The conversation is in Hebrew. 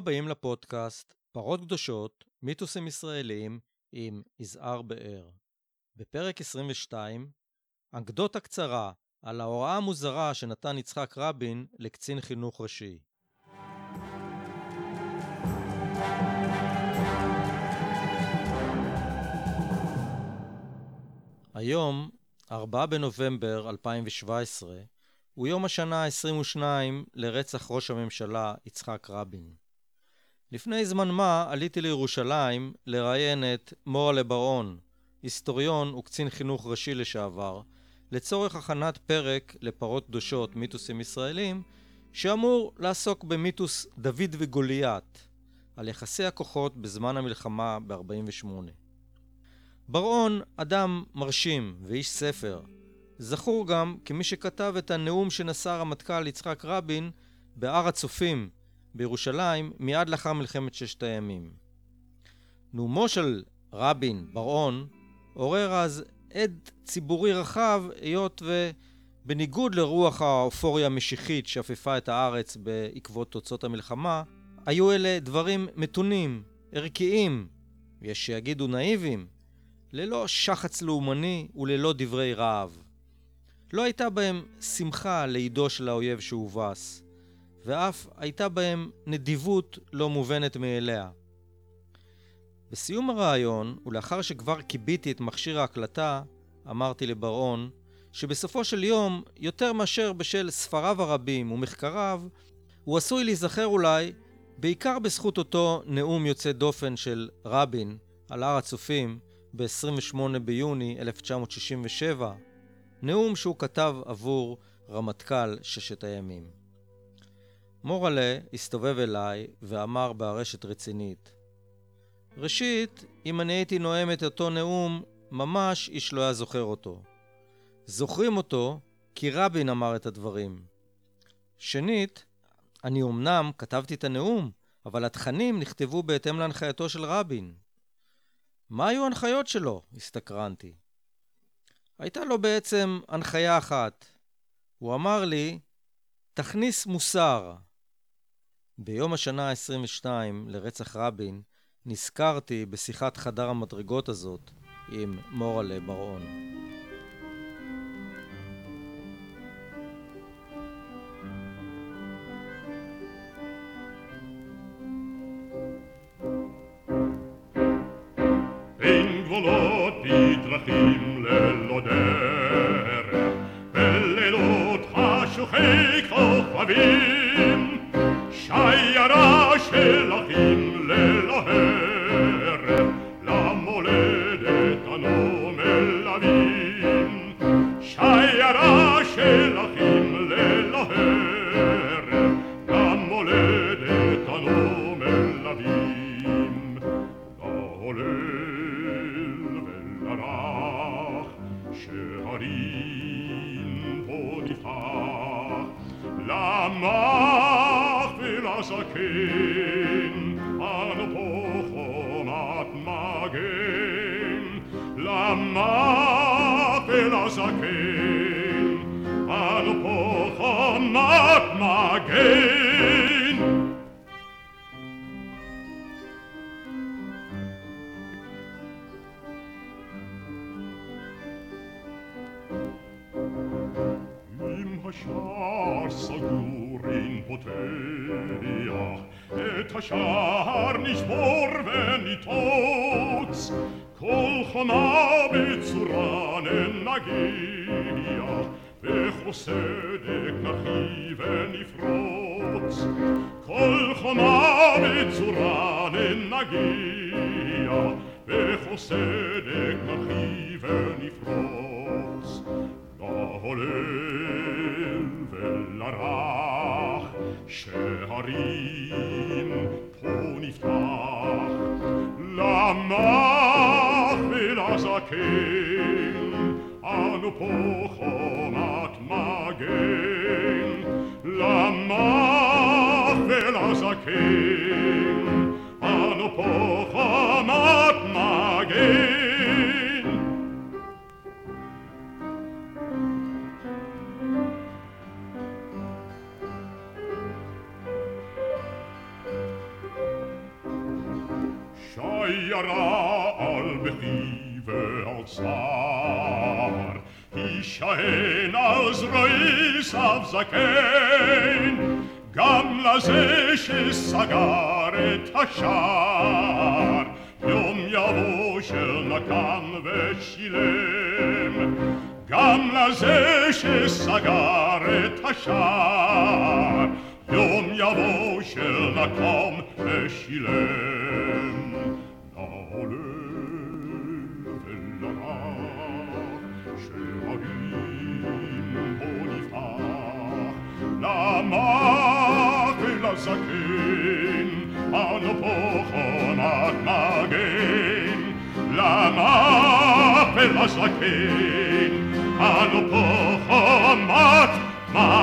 הבאים לפודקאסט פרות קדושות, מיתוסים ישראלים עם יזהר באר. בפרק 22, אנקדוטה קצרה על ההוראה המוזרה שנתן יצחק רבין לקצין חינוך ראשי. היום, 4 בנובמבר 2017, הוא יום השנה ה-22 לרצח ראש הממשלה יצחק רבין. לפני זמן מה עליתי לירושלים לראיין את מורלה בר-און, היסטוריון וקצין חינוך ראשי לשעבר, לצורך הכנת פרק לפרות קדושות מיתוסים ישראלים, שאמור לעסוק במיתוס דוד וגוליית, על יחסי הכוחות בזמן המלחמה ב-48. בר-און אדם מרשים ואיש ספר, זכור גם כמי שכתב את הנאום שנשא הרמטכ"ל יצחק רבין בהר הצופים בירושלים מיד לאחר מלחמת ששת הימים. נאומו של רבין, בר-און, עורר אז עד ציבורי רחב, היות ובניגוד לרוח האופוריה המשיחית שאפפה את הארץ בעקבות תוצאות המלחמה, היו אלה דברים מתונים, ערכיים, יש שיגידו נאיבים, ללא שחץ לאומני וללא דברי רעב. לא הייתה בהם שמחה לידו של האויב שהובס, ואף הייתה בהם נדיבות לא מובנת מאליה. בסיום הרעיון, ולאחר שכבר קיביתי את מכשיר ההקלטה, אמרתי לבר-און שבסופו של יום, יותר מאשר בשל ספריו הרבים ומחקריו, הוא עשוי להיזכר אולי בעיקר בזכות אותו נאום יוצא דופן של רבין על הר הצופים ב-28 ביוני 1967, נאום שהוא כתב עבור רמטכ"ל ששת הימים. מורלה הסתובב אליי ואמר בארשת רצינית, ראשית, אם אני הייתי נואם את אותו נאום, ממש איש לא היה זוכר אותו. זוכרים אותו כי רבין אמר את הדברים. שנית, אני אמנם כתבתי את הנאום, אבל התכנים נכתבו בהתאם להנחייתו של רבין. מה היו ההנחיות שלו? הסתקרנתי. הייתה לו בעצם הנחיה אחת. הוא אמר לי, תכניס מוסר. ביום השנה ה-22 לרצח רבין, נזכרתי בשיחת חדר המדרגות הזאת עם מורלה בר-און. אין גבולות בדרכים ללא דרך, בלילות חשוכי כוכבים, שיירה של אחים ללא הרף, למולדת אנו מלווים. שיירה של אחים ללא הרף, למולדת אנו מלווים. להולל ולרך, שהרים פה נפתח, למח ולזקן, אנו פה חומת מגן. למח ולזקן, אנו פה חומת מגן. השער סגור אין פותח, את השער נשבור וניתוץ, כל חומה בצורה ננגיח, וכל סדק נחי ונפרוץ. כל חומה בצורה ננגיח, וכל סדק נחי ונפרוץ. להולל ולרך, שהרים פה נפתח, למח ולזקן, אנו פה חומת מגן. למח ולזקן, אנו פה חומת מגן. האוצר, יישען על זרועיו זקן, גם לזה שסגר את השער, יום יבוא שנתן ושילם, גם לזה שסגר את השער, יום יבוא שנתן ושילם. לעולה ולרע שהרים בו נפתח, למח ולזקן אנו פה חומת מגן, למח ולזקן אנו פה חומת מגן.